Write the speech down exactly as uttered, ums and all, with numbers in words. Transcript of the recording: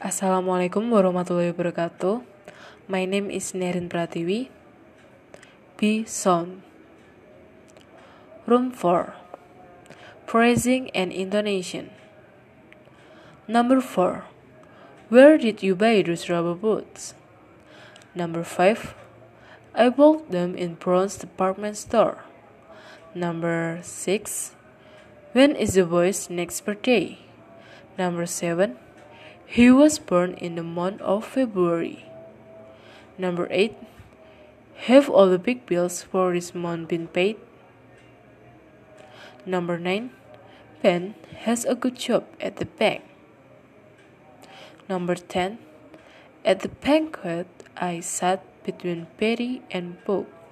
Assalamualaikum warahmatullahi wabarakatuh. My name is Nerin Pratiwi. B. Sound. Room four. Phrasing and intonation. Number four. Where did you buy those rubber boots? Number five. I bought them in Brown's department store. Number six. When is the boy's next birthday? Number seven. He was born in the month of February. Number eight. Have all the big bills for this month been paid? Number nine. Ben has a good job at the bank. Number ten. At the banquet, I sat between Betty and Bob.